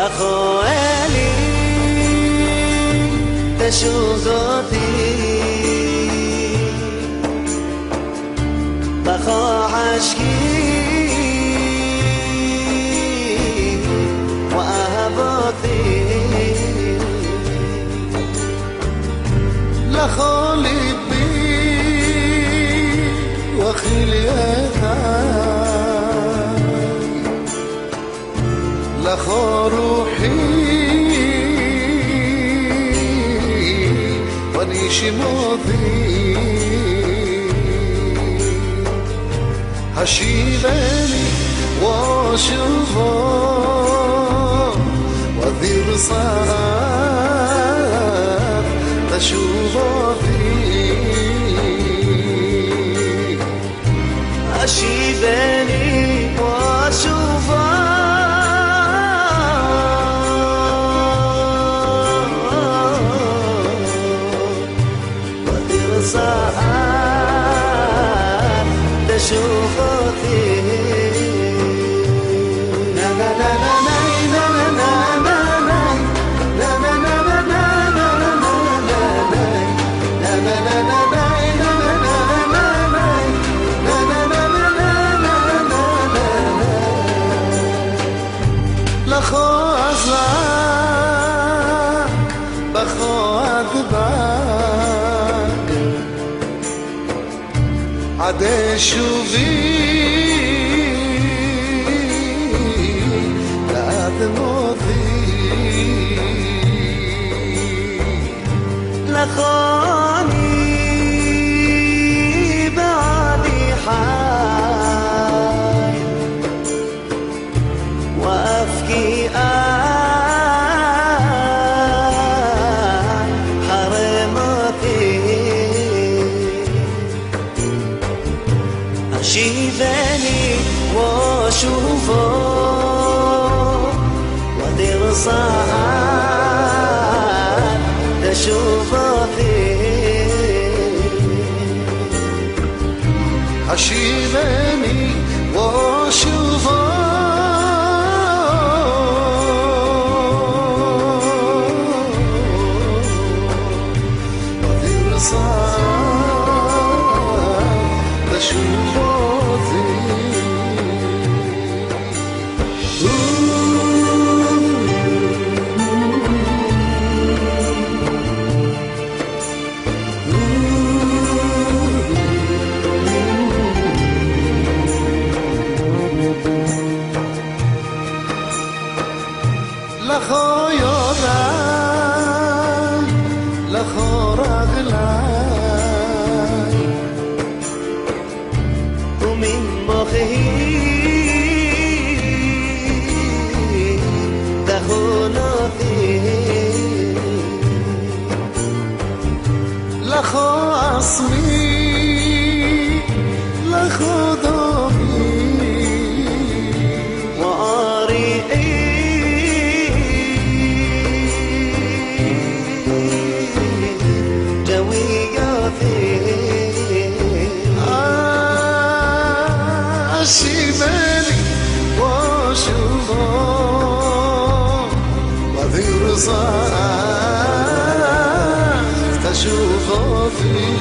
لخوالي تشوقتي بخا عشقي وأهبطي لخالي بي وخليتها لخا روحي ونيش ماضي هشيبني واشوفه وذير صار تشوفه هشيبني واشوفه تشوفي لا لا لا لا لا لا عده شوفي بعد ماضي لخاني بعدي حال وأفكي شيبني واشوفه ودير صعب تشوفه شيبني واشوفه ودير صعب تشوفه لخا يادم لخا رغلای ومن مخي دخلاتي لخا اسمی لخا دامی شيبني واشوفه وذير صار تشوفه